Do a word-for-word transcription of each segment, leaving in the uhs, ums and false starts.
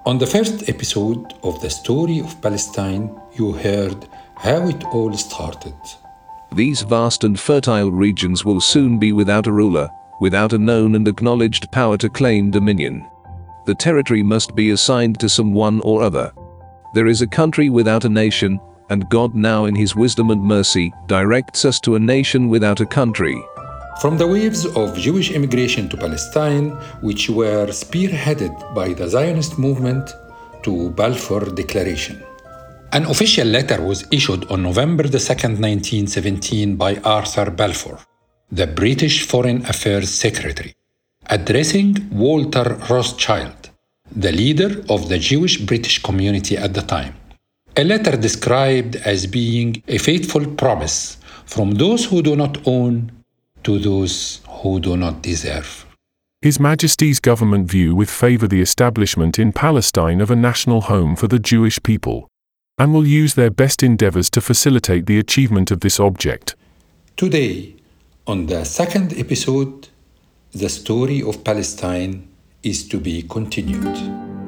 On the first episode of the story of Palestine, you heard how it all started. These vast and fertile regions will soon be without a ruler, without a known and acknowledged power to claim dominion. The territory must be assigned to someone or other. There is a country without a nation, and God now in His wisdom and mercy directs us to a nation without a country. From the waves of Jewish immigration to Palestine, which were spearheaded by the Zionist movement, to Balfour Declaration. An official letter was issued on November the second, nineteen seventeen by Arthur Balfour, the British Foreign Affairs Secretary, addressing Walter Rothschild, the leader of the Jewish British community at the time. A letter described as being a faithful promise from those who do not own to those who do not deserve. His Majesty's government view with favour the establishment in Palestine of a national home for the Jewish people, and will use their best endeavours to facilitate the achievement of this object. Today, on the second episode, the story of Palestine is to be continued.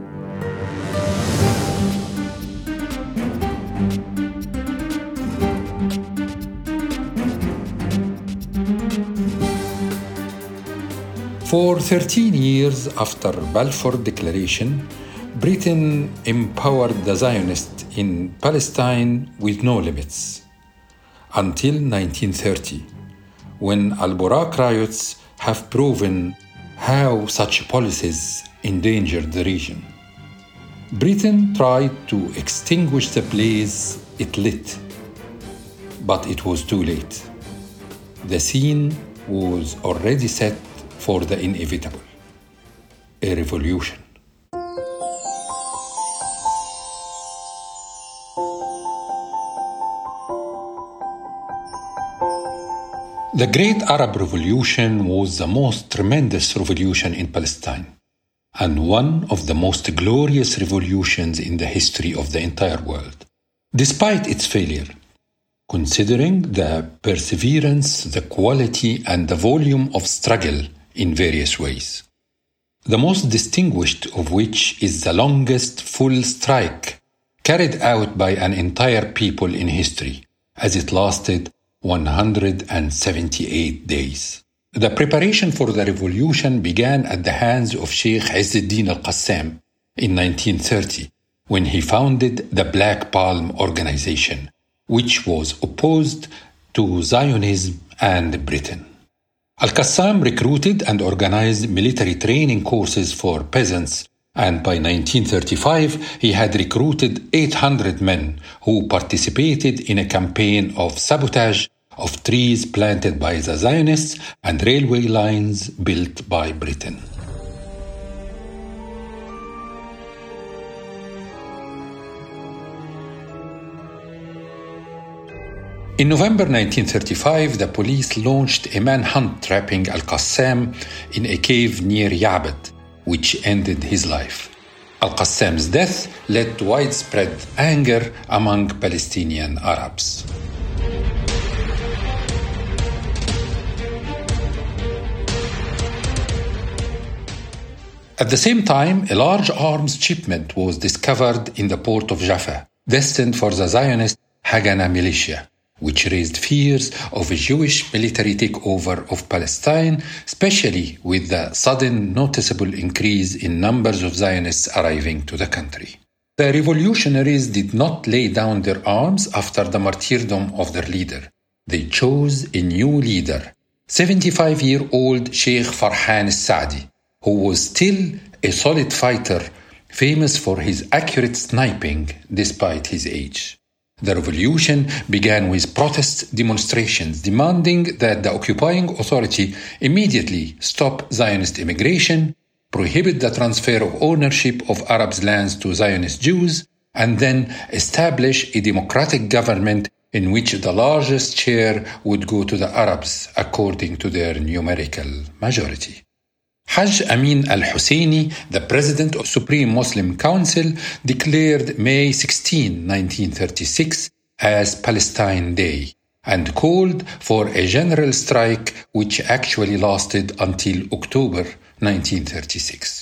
For thirteen years after Balfour Declaration, Britain empowered the Zionists in Palestine with no limits, until nineteen thirty, when Al-Burak riots have proven how such policies endangered the region. Britain tried to extinguish the blaze it lit, but it was too late. The scene was already set for the inevitable, a revolution. The Great Arab Revolution was the most tremendous revolution in Palestine, and one of the most glorious revolutions in the history of the entire world, despite its failure, considering the perseverance, the quality, and the volume of struggle in various ways. The most distinguished of which is the longest full strike carried out by an entire people in history, as it lasted one hundred seventy-eight days. The preparation for the revolution began at the hands of Sheikh Izz-ad-Din al-Qassam in nineteen thirty, when he founded the Black Palm Organization, which was opposed to Zionism and Britain. Al-Qassam recruited and organized military training courses for peasants, and by nineteen thirty-five he had recruited eight hundred men who participated in a campaign of sabotage of trees planted by the Zionists and railway lines built by Britain. In November nineteen thirty-five, the police launched a manhunt trapping Al-Qassam in a cave near Ya'bad, which ended his life. Al-Qassam's death led to widespread anger among Palestinian Arabs. At the same time, a large arms shipment was discovered in the port of Jaffa, destined for the Zionist Haganah militia, which raised fears of a Jewish military takeover of Palestine, especially with the sudden noticeable increase in numbers of Zionists arriving to the country. The revolutionaries did not lay down their arms after the martyrdom of their leader. They chose a new leader, seventy-five-year-old Sheikh Farhan al-Sa'di, who was still a solid fighter, famous for his accurate sniping despite his age. The revolution began with protest demonstrations demanding that the occupying authority immediately stop Zionist immigration, prohibit the transfer of ownership of Arabs' lands to Zionist Jews, and then establish a democratic government in which the largest share would go to the Arabs according to their numerical majority. Hajj Amin al-Husseini, the president of Supreme Muslim Council, declared May sixteenth, nineteen thirty-six as Palestine Day and called for a general strike which actually lasted until October nineteen thirty-six.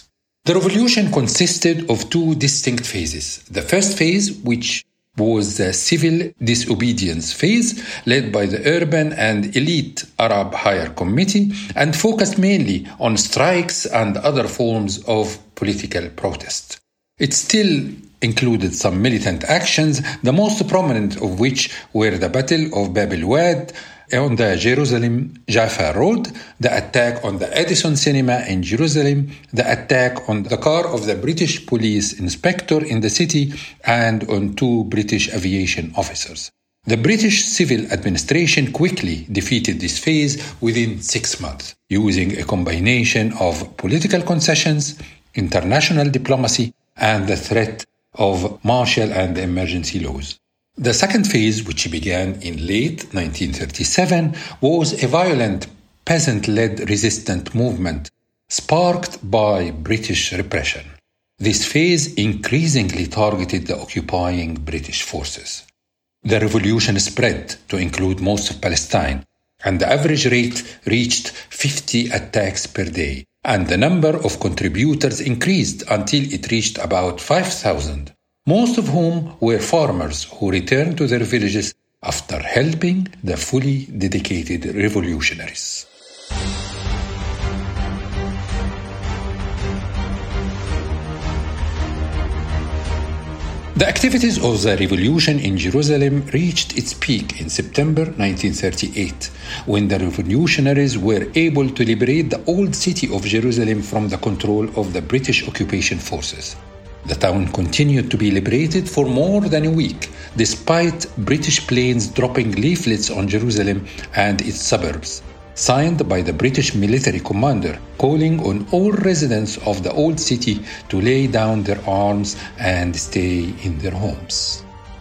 The revolution consisted of two distinct phases. The first phase, which was the civil disobedience phase, led by the urban and elite Arab Higher Committee, and focused mainly on strikes and other forms of political protest. It still included some militant actions, the most prominent of which were the Battle of Bab el-Wad on the Jerusalem-Jaffa Road, the attack on the Edison Cinema in Jerusalem, the attack on the car of the British police inspector in the city, and on two British aviation officers. The British civil administration quickly defeated this phase within six months, using a combination of political concessions, international diplomacy, and the threat of martial and emergency laws. The second phase, which began in late nineteen thirty-seven, was a violent peasant-led resistance movement sparked by British repression. This phase increasingly targeted the occupying British forces. The revolution spread to include most of Palestine, and the average rate reached fifty attacks per day, and the number of contributors increased until it reached about five thousand. Most of whom were farmers who returned to their villages after helping the fully dedicated revolutionaries. The activities of the revolution in Jerusalem reached its peak in September nineteen thirty-eight, when the revolutionaries were able to liberate the old city of Jerusalem from the control of the British occupation forces. The town continued to be liberated for more than a week, despite British planes dropping leaflets on Jerusalem and its suburbs, signed by the British military commander, calling on all residents of the old city to lay down their arms and stay in their homes.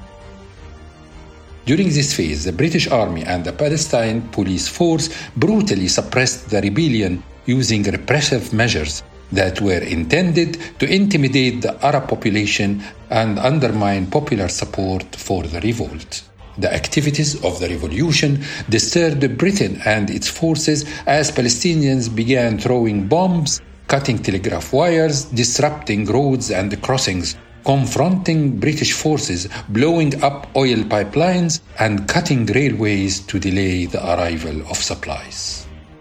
During this phase, the British Army and the Palestine Police Force brutally suppressed the rebellion using repressive measures that were intended to intimidate the Arab population and undermine popular support for the revolt. The activities of the revolution disturbed Britain and its forces as Palestinians began throwing bombs, cutting telegraph wires, disrupting roads and crossings, confronting British forces, blowing up oil pipelines, and cutting railways to delay the arrival of supplies.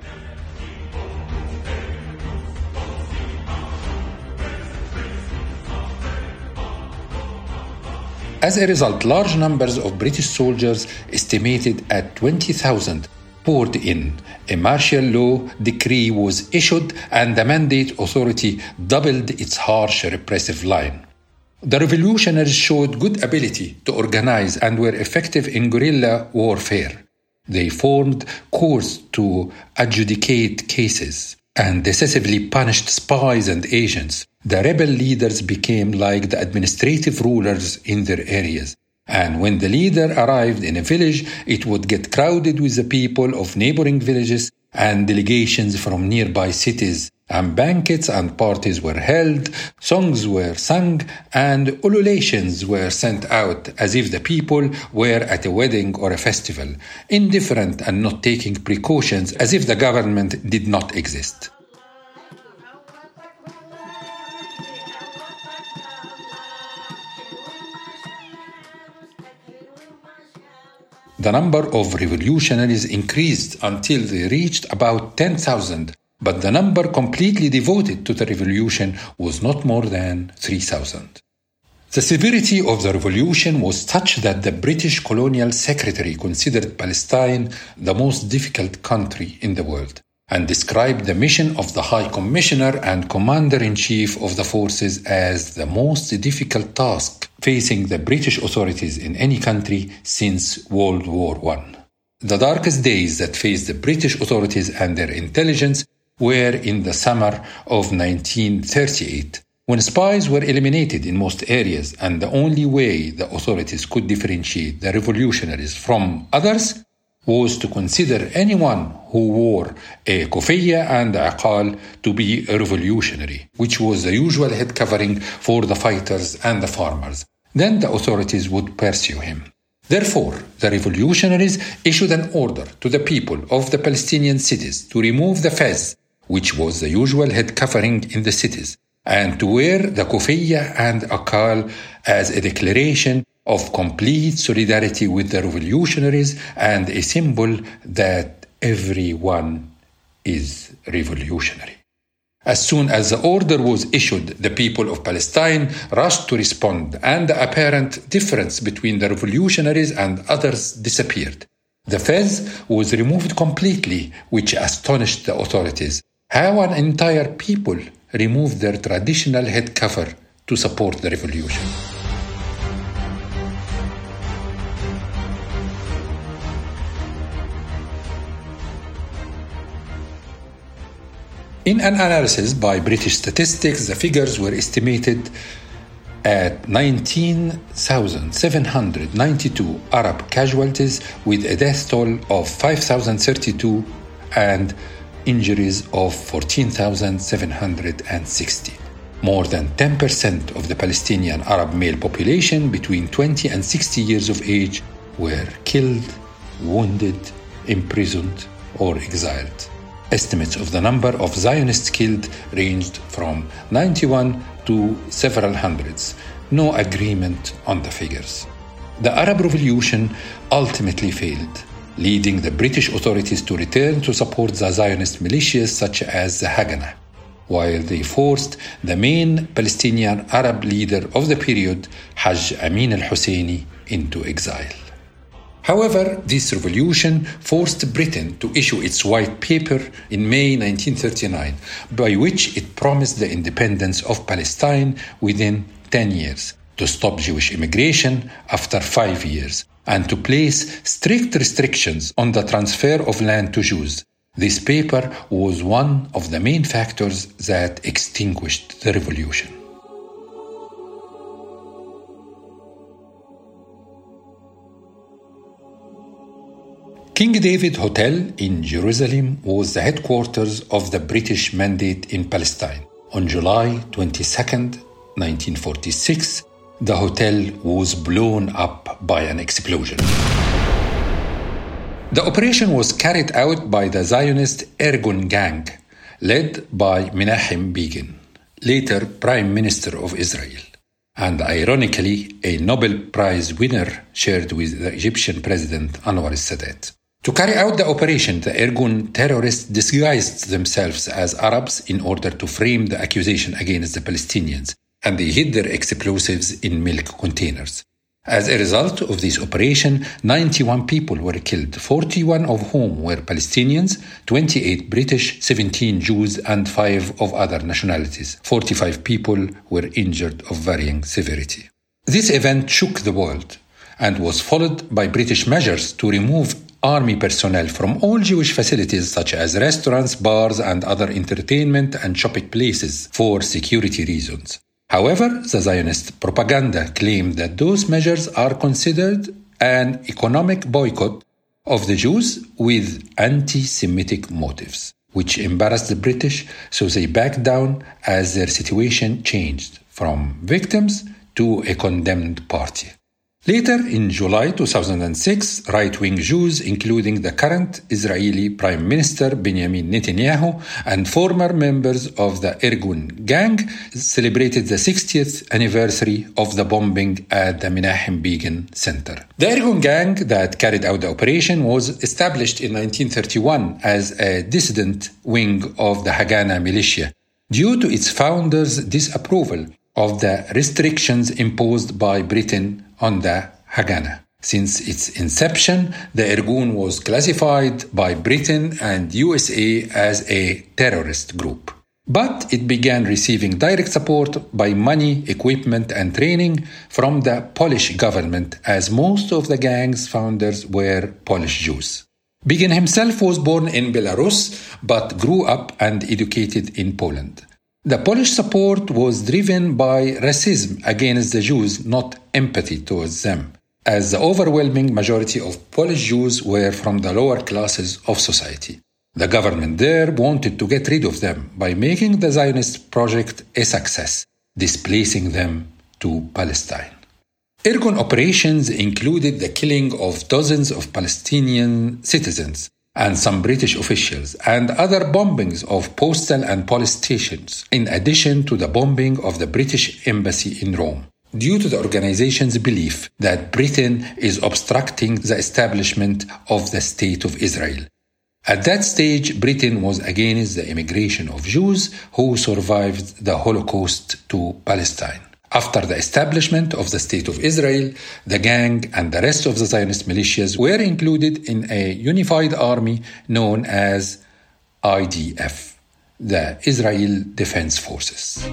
As a result, large numbers of British soldiers, estimated at twenty thousand, poured in. A martial law decree was issued, and the Mandate Authority doubled its harsh repressive line. The revolutionaries showed good ability to organize and were effective in guerrilla warfare. They formed courts to adjudicate cases and decisively punished spies and agents. The rebel leaders became like the administrative rulers in their areas. And when the leader arrived in a village, it would get crowded with the people of neighboring villages and delegations from nearby cities. And banquets and parties were held, songs were sung, and ululations were sent out as if the people were at a wedding or a festival, indifferent and not taking precautions as if the government did not exist. The number of revolutionaries increased until they reached about ten thousand, but the number completely devoted to the revolution was not more than three thousand. The severity of the revolution was such that the British colonial secretary considered Palestine the most difficult country in the world and described the mission of the High Commissioner and Commander-in-Chief of the forces as the most difficult task facing the British authorities in any country since World War One. The darkest days that faced the British authorities and their intelligence were in the summer of nineteen thirty-eight, when spies were eliminated in most areas, and the only way the authorities could differentiate the revolutionaries from others was to consider anyone who wore a kufiyya and a aqal to be a revolutionary, which was the usual head covering for the fighters and the farmers. Then the authorities would pursue him. Therefore, the revolutionaries issued an order to the people of the Palestinian cities to remove the fez, which was the usual head covering in the cities, and to wear the kufiyya and akal as a declaration of complete solidarity with the revolutionaries and a symbol that everyone is revolutionary. As soon as the order was issued, the people of Palestine rushed to respond, and the apparent difference between the revolutionaries and others disappeared. The fez was removed completely, which astonished the authorities. How an entire people removed their traditional head cover to support the revolution. In an analysis by British Statistics, the figures were estimated at nineteen thousand seven hundred ninety-two Arab casualties, with a death toll of five thousand thirty-two and injuries of fourteen thousand seven hundred sixty. More than ten percent of the Palestinian Arab male population between twenty and sixty years of age were killed, wounded, imprisoned, or exiled. Estimates of the number of Zionists killed ranged from ninety-one to several hundreds. No agreement on the figures. The Arab Revolution ultimately failed, leading the British authorities to return to support the Zionist militias such as the Haganah, while they forced the main Palestinian Arab leader of the period, Hajj Amin al-Husseini, into exile. However, this revolution forced Britain to issue its white paper in May nineteen thirty-nine, by which it promised the independence of Palestine within ten years, to stop Jewish immigration after five years, and to place strict restrictions on the transfer of land to Jews. This paper was one of the main factors that extinguished the revolution. King David Hotel in Jerusalem was the headquarters of the British Mandate in Palestine. On July twenty-second, nineteen forty-six, the hotel was blown up by an explosion. The operation was carried out by the Zionist Irgun gang, led by Menachem Begin, later Prime Minister of Israel, and ironically a Nobel Prize winner shared with the Egyptian President Anwar al-Sadat. To carry out the operation, the Irgun terrorists disguised themselves as Arabs in order to frame the accusation against the Palestinians, and they hid their explosives in milk containers. As a result of this operation, ninety-one people were killed, forty-one of whom were Palestinians, twenty-eight British, seventeen Jews, and five of other nationalities. forty-five people were injured of varying severity. This event shook the world and was followed by British measures to remove army personnel from all Jewish facilities such as restaurants, bars, and other entertainment and shopping places for security reasons. However, the Zionist propaganda claimed that those measures are considered an economic boycott of the Jews with anti-Semitic motives, which embarrassed the British, so they backed down as their situation changed from victims to a condemned party. Later, in July two thousand six, right-wing Jews, including the current Israeli Prime Minister Benjamin Netanyahu and former members of the Irgun gang, celebrated the sixtieth anniversary of the bombing at the Menachem Begin Center. The Irgun gang that carried out the operation was established in nineteen thirty-one as a dissident wing of the Haganah militia, due to its founders' disapproval of the restrictions imposed by Britain on the Haganah. Since its inception, the Irgun was classified by Britain and U S A as a terrorist group. But it began receiving direct support by money, equipment, and training from the Polish government, as most of the gang's founders were Polish Jews. Begin himself was born in Belarus, but grew up and educated in Poland. The Polish support was driven by racism against the Jews, not empathy towards them, as the overwhelming majority of Polish Jews were from the lower classes of society. The government there wanted to get rid of them by making the Zionist project a success, displacing them to Palestine. Irgun operations included the killing of dozens of Palestinian citizens, and some British officials, and other bombings of postal and police stations, in addition to the bombing of the British embassy in Rome, due to the organization's belief that Britain is obstructing the establishment of the State of Israel. At that stage, Britain was against the immigration of Jews who survived the Holocaust to Palestine. After the establishment of the State of Israel, the gang and the rest of the Zionist militias were included in a unified army known as I D F, the Israel Defense Forces.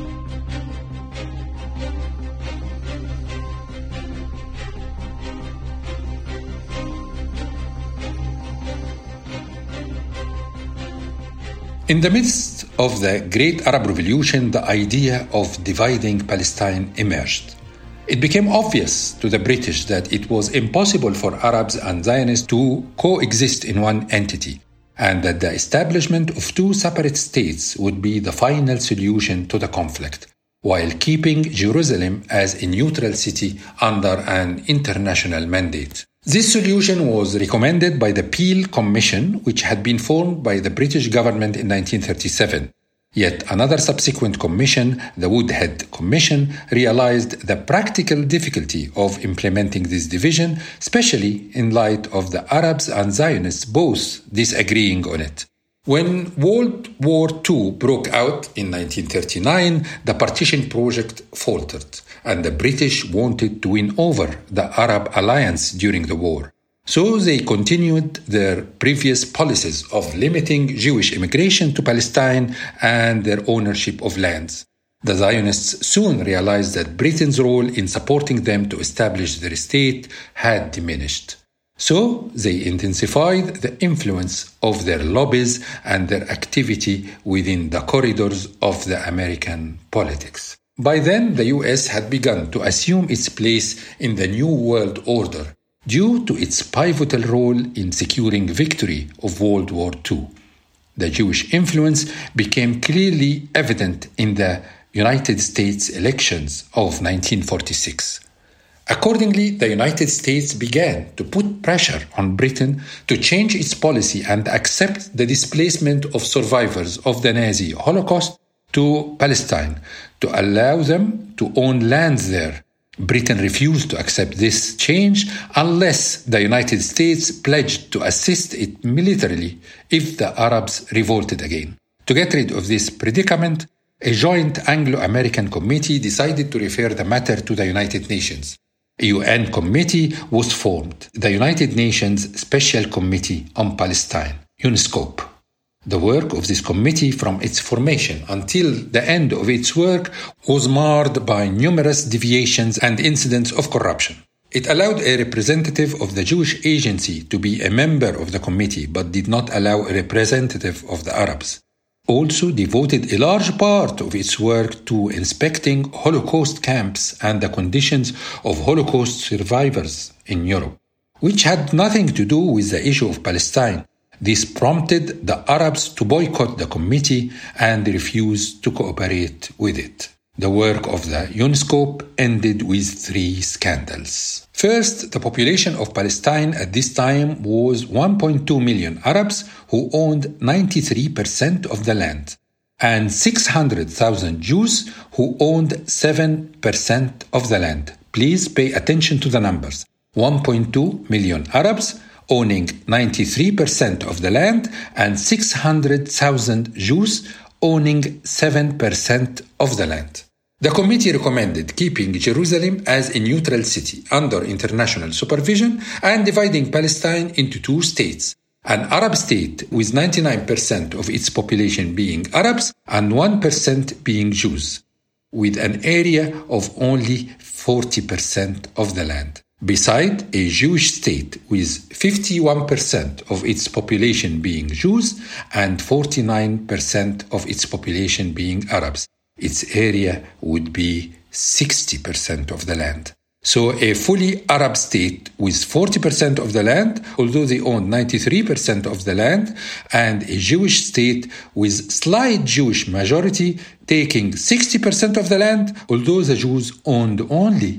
In the midst of the Great Arab Revolution, the idea of dividing Palestine emerged. It became obvious to the British that it was impossible for Arabs and Zionists to coexist in one entity, and that the establishment of two separate states would be the final solution to the conflict, while keeping Jerusalem as a neutral city under an international mandate. This solution was recommended by the Peel Commission, which had been formed by the British government in nineteen thirty-seven. Yet another subsequent commission, the Woodhead Commission, realized the practical difficulty of implementing this division, especially in light of the Arabs and Zionists both disagreeing on it. When World War Two broke out in nineteen thirty-nine, the partition project faltered, and the British wanted to win over the Arab alliance during the war. So they continued their previous policies of limiting Jewish immigration to Palestine and their ownership of lands. The Zionists soon realized that Britain's role in supporting them to establish their state had diminished. So they intensified the influence of their lobbies and their activity within the corridors of the American politics. By then, the U S had begun to assume its place in the New World Order due to its pivotal role in securing victory of World War Two. The Jewish influence became clearly evident in the United States elections of nineteen forty-six. Accordingly, the United States began to put pressure on Britain to change its policy and accept the displacement of survivors of the Nazi Holocaust to Palestine, to allow them to own lands there. Britain refused to accept this change unless the United States pledged to assist it militarily if the Arabs revolted again. To get rid of this predicament, a joint Anglo-American committee decided to refer the matter to the United Nations. A U N committee was formed, the United Nations Special Committee on Palestine, UNSCOP. The work of this committee from its formation until the end of its work was marred by numerous deviations and incidents of corruption. It allowed a representative of the Jewish Agency to be a member of the committee but did not allow a representative of the Arabs. Also devoted a large part of its work to inspecting Holocaust camps and the conditions of Holocaust survivors in Europe, which had nothing to do with the issue of Palestine. This prompted the Arabs to boycott the committee and refuse to cooperate with it. The work of the UNSCOP ended with three scandals. First, the population of Palestine at this time was one point two million Arabs who owned ninety-three percent of the land, and six hundred thousand Jews who owned seven percent of the land. Please pay attention to the numbers. one point two million Arabs owning ninety-three percent of the land and six hundred thousand Jews owning seven percent of the land. The committee recommended keeping Jerusalem as a neutral city under international supervision and dividing Palestine into two states, an Arab state with ninety-nine percent of its population being Arabs and one percent being Jews, with an area of only forty percent of the land. Beside a Jewish state with fifty-one percent of its population being Jews and forty-nine percent of its population being Arabs, its area would be sixty percent of the land. So a fully Arab state with forty percent of the land, although they owned ninety-three percent of the land, and a Jewish state with slight Jewish majority taking sixty percent of the land, although the Jews owned only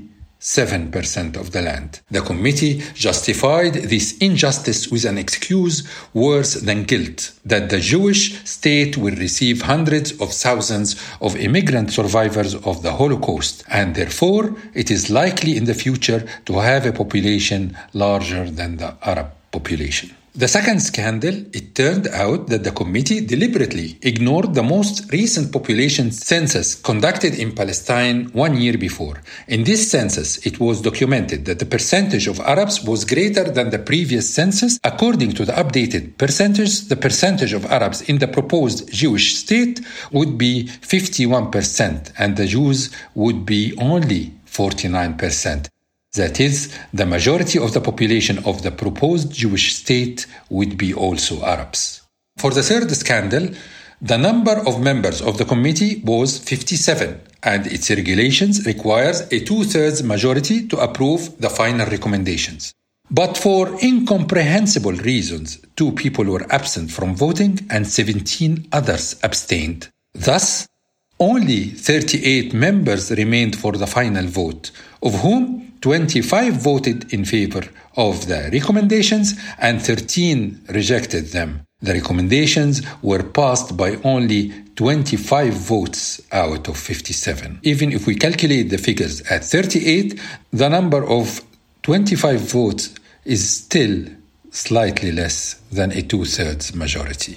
seven percent of the land. The committee justified this injustice with an excuse worse than guilt, that the Jewish state will receive hundreds of thousands of immigrant survivors of the Holocaust, and therefore it is likely in the future to have a population larger than the Arab population. The second scandal, it turned out that the committee deliberately ignored the most recent population census conducted in Palestine one year before. In this census, it was documented that the percentage of Arabs was greater than the previous census. According to the updated percentage, the percentage of Arabs in the proposed Jewish state would be fifty-one percent, and the Jews would be only forty-nine percent. That is, the majority of the population of the proposed Jewish state would be also Arabs. For the third scandal, the number of members of the committee was fifty-seven, and its regulations requires a two-thirds majority to approve the final recommendations. But for incomprehensible reasons, two people were absent from voting and seventeen others abstained. Thus, only thirty-eight members remained for the final vote, of whom twenty-five voted in favor of the recommendations and thirteen rejected them. The recommendations were passed by only twenty-five votes out of fifty-seven. Even if we calculate the figures at thirty-eight, the number of twenty-five votes is still slightly less than a two-thirds majority.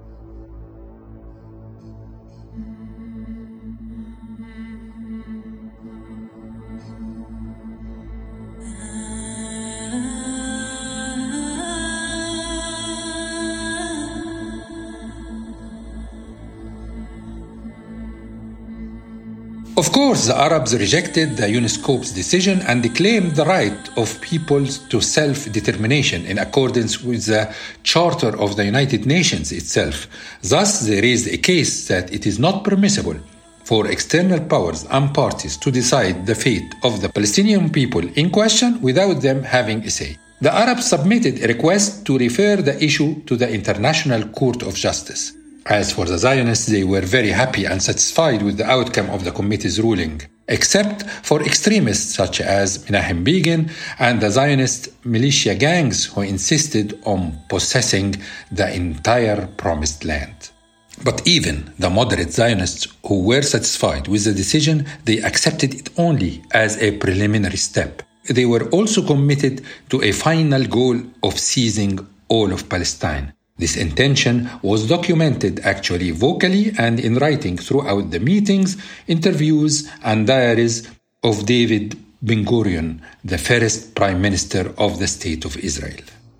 Of course, the Arabs rejected the UNESCO's decision and claimed the right of peoples to self-determination in accordance with the Charter of the United Nations itself. Thus, they raised a case that it is not permissible for external powers and parties to decide the fate of the Palestinian people in question without them having a say. The Arabs submitted a request to refer the issue to the International Court of Justice. As for the Zionists, they were very happy and satisfied with the outcome of the committee's ruling, except for extremists such as Menachem Begin and the Zionist militia gangs who insisted on possessing the entire promised land. But even the moderate Zionists who were satisfied with the decision, they accepted it only as a preliminary step. They were also committed to a final goal of seizing all of Palestine. This intention was documented actually vocally and in writing throughout the meetings, interviews, and diaries of David Ben-Gurion, the first Prime Minister of the State of Israel.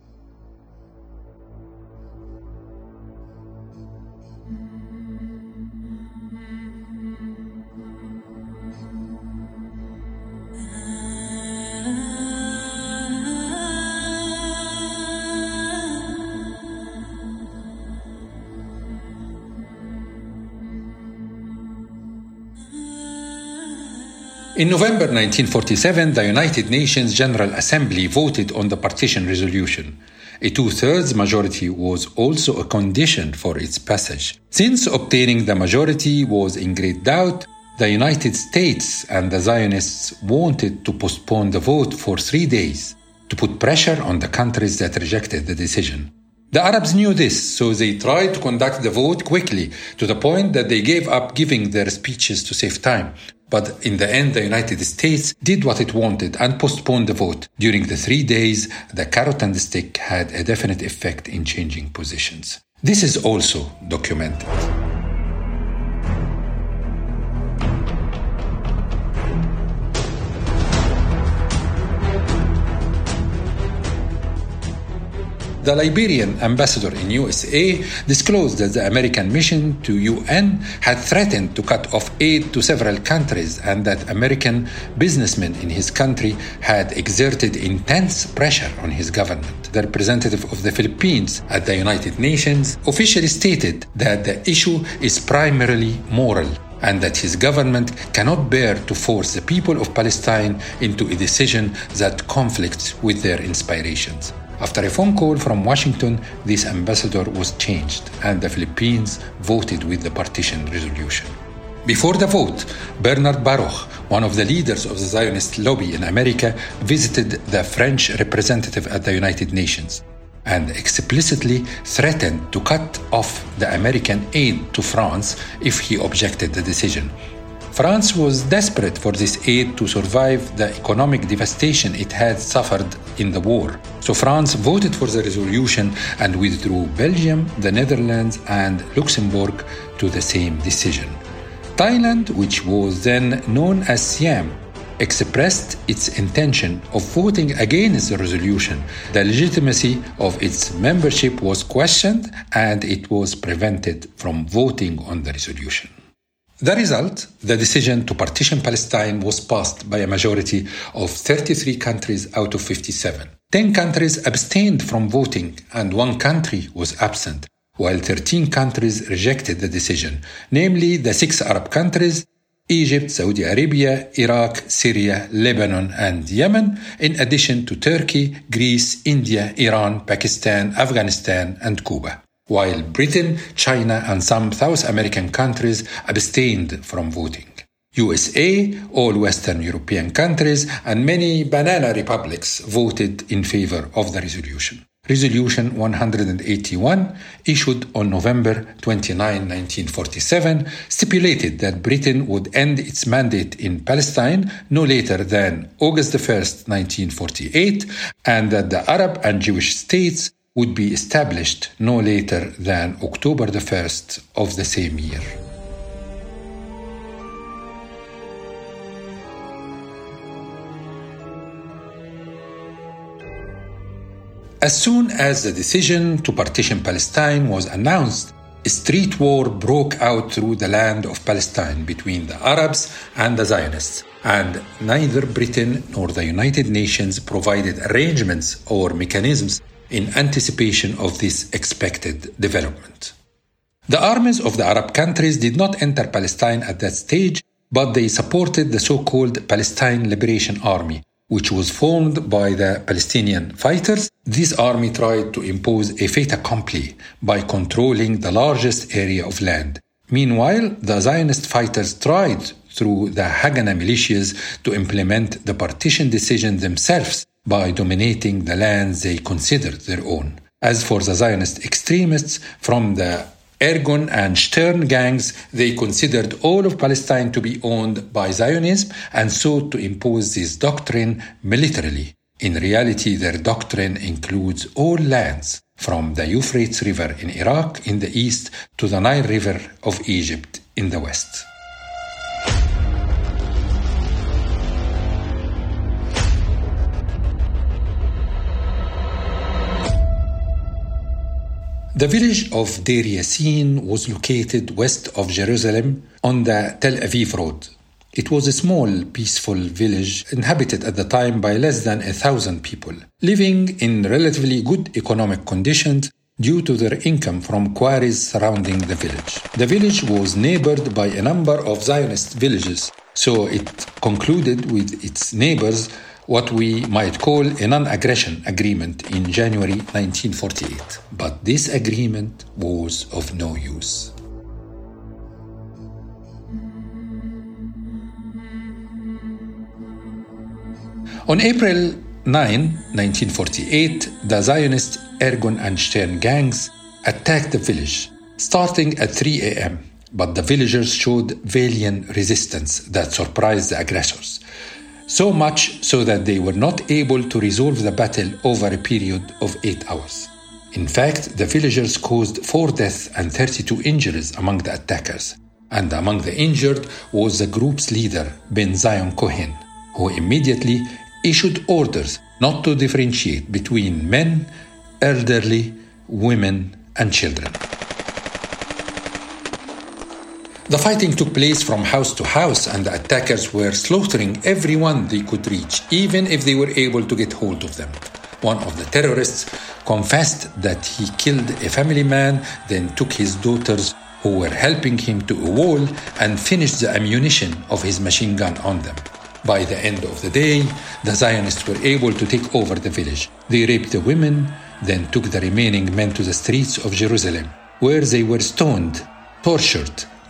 In November nineteen forty-seven, the United Nations General Assembly voted on the partition resolution. A two-thirds majority was also a condition for its passage. Since obtaining the majority was in great doubt, the United States and the Zionists wanted to postpone the vote for three days to put pressure on the countries that rejected the decision. The Arabs knew this, so they tried to conduct the vote quickly, to the point that they gave up giving their speeches to save time. But in the end, the United States did what it wanted and postponed the vote. During the three days, the carrot and the stick had a definite effect in changing positions. This is also documented. The Liberian ambassador in U S A disclosed that the American mission to U N had threatened to cut off aid to several countries and that American businessmen in his country had exerted intense pressure on his government. The representative of the Philippines at the United Nations officially stated that the issue is primarily moral and that his government cannot bear to force the people of Palestine into a decision that conflicts with their inspirations. After a phone call from Washington, this ambassador was changed and the Philippines voted with the partition resolution. Before the vote, Bernard Baruch, one of the leaders of the Zionist lobby in America, visited the French representative at the United Nations and explicitly threatened to cut off the American aid to France if he objected the decision. France was desperate for this aid to survive the economic devastation it had suffered in the war. So France voted for the resolution and withdrew Belgium, the Netherlands, and Luxembourg to the same decision. Thailand, which was then known as Siam, expressed its intention of voting against the resolution. The legitimacy of its membership was questioned and it was prevented from voting on the resolution. The result, the decision to partition Palestine, was passed by a majority of thirty-three countries out of fifty-seven. Ten countries abstained from voting and one country was absent, while thirteen countries rejected the decision, namely the six Arab countries, Egypt, Saudi Arabia, Iraq, Syria, Lebanon, and Yemen, in addition to Turkey, Greece, India, Iran, Pakistan, Afghanistan, and Cuba. While Britain, China, and some South American countries abstained from voting. U S A, all Western European countries, and many banana republics voted in favor of the resolution. Resolution one hundred eighty-one, issued on November twenty-ninth, nineteen forty-seven, stipulated that Britain would end its mandate in Palestine no later than August first, nineteen forty-eight, and that the Arab and Jewish states would be established no later than October the first of the same year. As soon as the decision to partition Palestine was announced, a street war broke out through the land of Palestine between the Arabs and the Zionists, and neither Britain nor the United Nations provided arrangements or mechanisms in anticipation of this expected development. The armies of the Arab countries did not enter Palestine at that stage, but they supported the so-called Palestine Liberation Army, which was formed by the Palestinian fighters. This army tried to impose a fait accompli by controlling the largest area of land. Meanwhile, the Zionist fighters tried through the Haganah militias to implement the partition decision themselves by dominating the lands they considered their own. As for the Zionist extremists from the Ergun and Stern gangs, they considered all of Palestine to be owned by Zionism and sought to impose this doctrine militarily. In reality, their doctrine includes all lands, from the Euphrates River in Iraq in the east to the Nile River of Egypt in the west. The village of Deir Yassin was located west of Jerusalem on the Tel Aviv road. It was a small, peaceful village inhabited at the time by less than a thousand people, living in relatively good economic conditions due to their income from quarries surrounding the village. The village was neighbored by a number of Zionist villages, so it concluded with its neighbors what we might call a non-aggression agreement in January nineteen forty-eight. But this agreement was of no use. On April ninth, nineteen forty-eight, the Zionist Ergun and Stern gangs attacked the village, starting at three a.m., but the villagers showed valiant resistance that surprised the aggressors. So much so that they were not able to resolve the battle over a period of eight hours. In fact, the villagers caused four deaths and thirty-two injuries among the attackers. And among the injured was the group's leader, Ben Zion Cohen, who immediately issued orders not to differentiate between men, elderly, women, and children. The fighting took place from house to house, and the attackers were slaughtering everyone they could reach, even if they were able to get hold of them. One of the terrorists confessed that he killed a family man, then took his daughters who were helping him to a wall and finished the ammunition of his machine gun on them. By the end of the day, the Zionists were able to take over the village. They raped the women, then took the remaining men to the streets of Jerusalem, where they were stoned, tortured,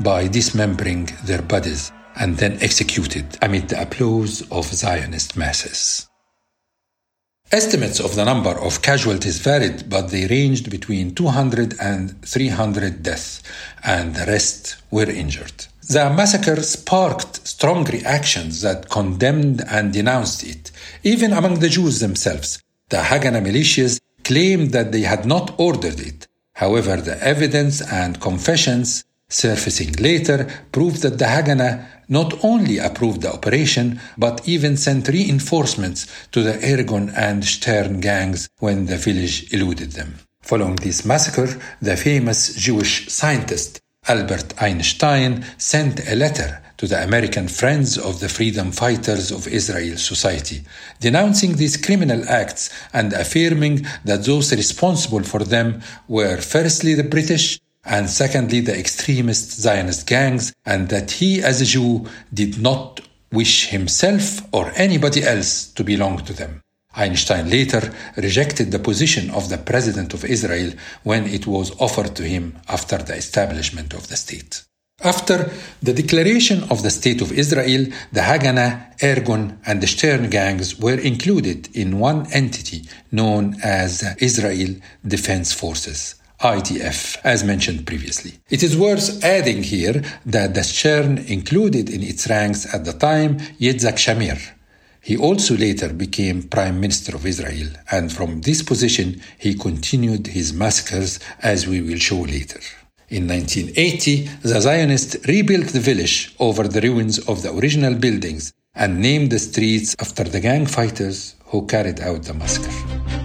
by dismembering their bodies and then executed amid the applause of Zionist masses. Estimates of the number of casualties varied, but they ranged between two hundred and three hundred deaths, and the rest were injured. The massacre sparked strong reactions that condemned and denounced it, even among the Jews themselves. The Haganah militias claimed that they had not ordered it. However, the evidence and confessions surfacing later proved that the Haganah not only approved the operation, but even sent reinforcements to the Irgun and Stern gangs when the village eluded them. Following this massacre, the famous Jewish scientist Albert Einstein sent a letter to the American Friends of the Freedom Fighters of Israel Society, denouncing these criminal acts and affirming that those responsible for them were firstly the British and secondly the extremist Zionist gangs, and that he as a Jew did not wish himself or anybody else to belong to them. Einstein later rejected the position of the President of Israel when it was offered to him after the establishment of the state. After the declaration of the State of Israel, the Haganah, Irgun, and the Stern gangs were included in one entity known as the Israel Defense Forces, I D F, as mentioned previously. It is worth adding here that the Stern included in its ranks at the time Yitzhak Shamir. He also later became Prime Minister of Israel, and from this position he continued his massacres, as we will show later. In nineteen eighty, the Zionists rebuilt the village over the ruins of the original buildings and named the streets after the gang fighters who carried out the massacre.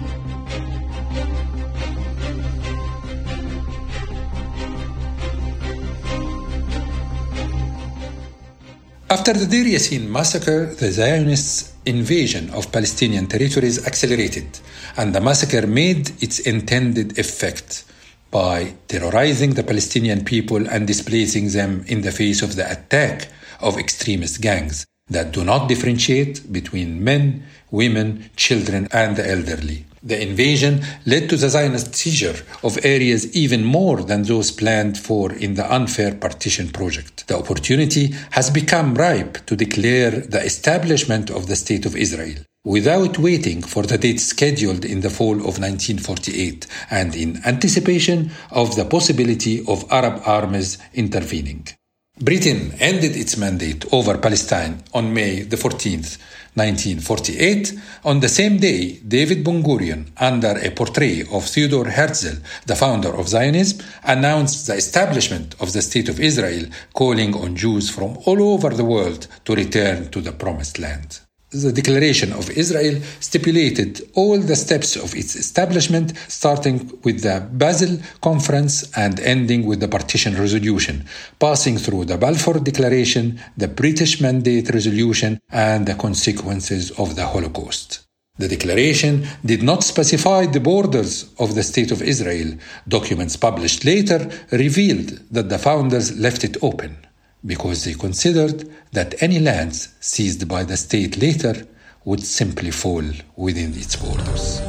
After the Deir Yassin massacre, the Zionists' invasion of Palestinian territories accelerated, and the massacre made its intended effect by terrorizing the Palestinian people and displacing them in the face of the attack of extremist gangs that do not differentiate between men, women, children, and the elderly. The invasion led to the Zionist seizure of areas even more than those planned for in the unfair partition project. The opportunity has become ripe to declare the establishment of the State of Israel, without waiting for the date scheduled in the fall of nineteen forty-eight and in anticipation of the possibility of Arab armies intervening. Britain ended its mandate over Palestine on May the fourteenth, nineteen forty-eight. On the same day, David Ben-Gurion, under a portrait of Theodor Herzl, the founder of Zionism, announced the establishment of the State of Israel, calling on Jews from all over the world to return to the Promised Land. The Declaration of Israel stipulated all the steps of its establishment, starting with the Basel Conference and ending with the Partition Resolution, passing through the Balfour Declaration, the British Mandate Resolution, and the consequences of the Holocaust. The declaration did not specify the borders of the State of Israel. Documents published later revealed that the founders left it open, because they considered that any lands seized by the state later would simply fall within its borders.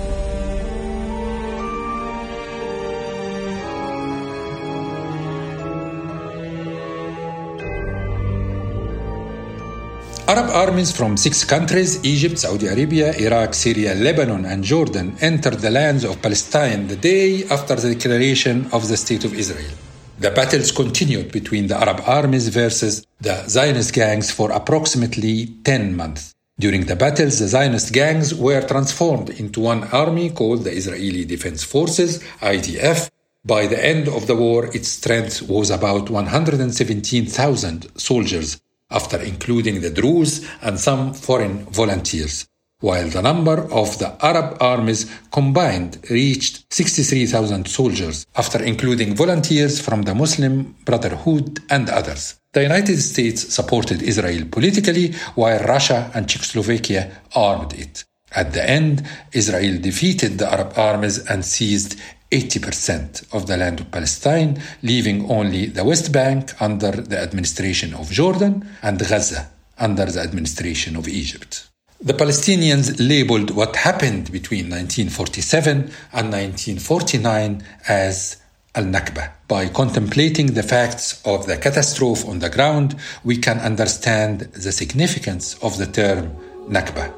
Arab armies from six countries, Egypt, Saudi Arabia, Iraq, Syria, Lebanon, and Jordan, entered the lands of Palestine the day after the declaration of the State of Israel. The battles continued between the Arab armies versus the Zionist gangs for approximately ten months. During the battles, the Zionist gangs were transformed into one army called the Israeli Defense Forces, I D F. By the end of the war, its strength was about one hundred seventeen thousand soldiers, after including the Druze and some foreign volunteers, while the number of the Arab armies combined reached sixty-three thousand soldiers, after including volunteers from the Muslim Brotherhood and others. The United States supported Israel politically, while Russia and Czechoslovakia armed it. At the end, Israel defeated the Arab armies and seized eighty percent of the land of Palestine, leaving only the West Bank under the administration of Jordan and Gaza under the administration of Egypt. The Palestinians labeled what happened between nineteen forty-seven and nineteen forty-nine as Al-Nakba. By contemplating the facts of the catastrophe on the ground, we can understand the significance of the term Nakba.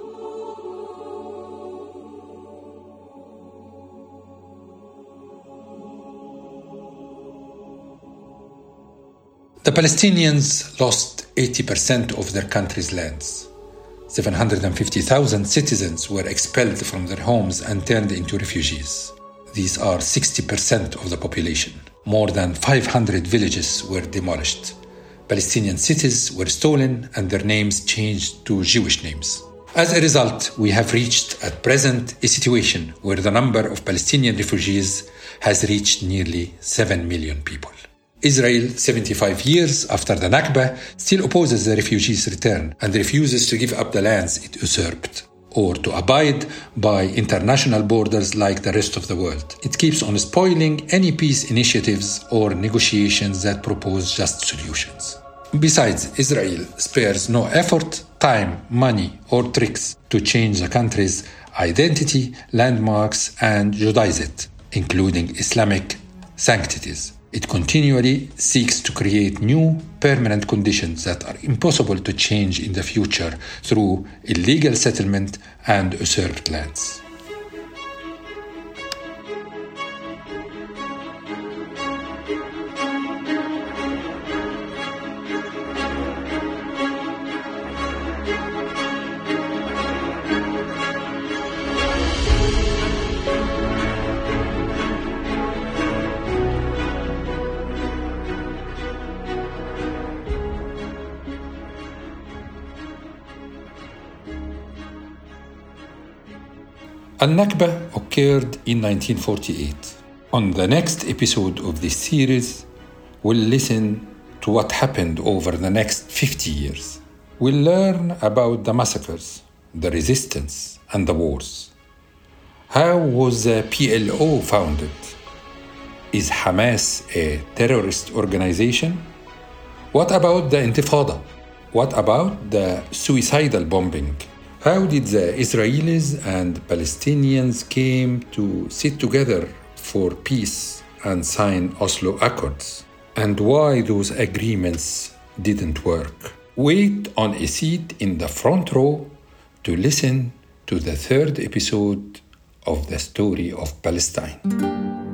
The Palestinians lost eighty percent of their country's lands. seven hundred fifty thousand citizens were expelled from their homes and turned into refugees. These are sixty percent of the population. More than five hundred villages were demolished. Palestinian cities were stolen and their names changed to Jewish names. As a result, we have reached at present a situation where the number of Palestinian refugees has reached nearly seven million people. Israel, seventy-five years after the Nakba, still opposes the refugees' return and refuses to give up the lands it usurped or to abide by international borders like the rest of the world. It keeps on spoiling any peace initiatives or negotiations that propose just solutions. Besides, Israel spares no effort, time, money, or tricks to change the country's identity, landmarks, and Judaize it, including Islamic sanctities. It continually seeks to create new, permanent conditions that are impossible to change in the future through illegal settlement and usurped lands. Al-Nakba occurred in nineteen forty-eight. On the next episode of this series, we'll listen to what happened over the next fifty years. We'll learn about the massacres, the resistance, and the wars. How was the P L O founded? Is Hamas a terrorist organization? What about the Intifada? What about the suicidal bombing? How did the Israelis and Palestinians came to sit together for peace and sign Oslo Accords? And why those agreements didn't work? Wait on a seat in the front row to listen to the third episode of the story of Palestine.